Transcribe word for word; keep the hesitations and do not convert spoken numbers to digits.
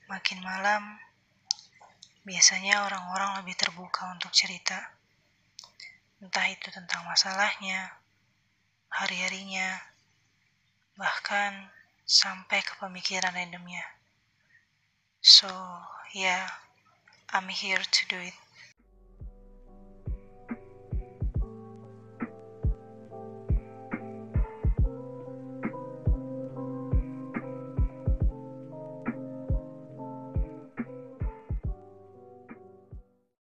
Makin malam, biasanya orang-orang lebih terbuka untuk cerita. Entah itu tentang masalahnya, hari-harinya, bahkan sampai ke pemikiran randomnya. So, yeah, I'm here to do it.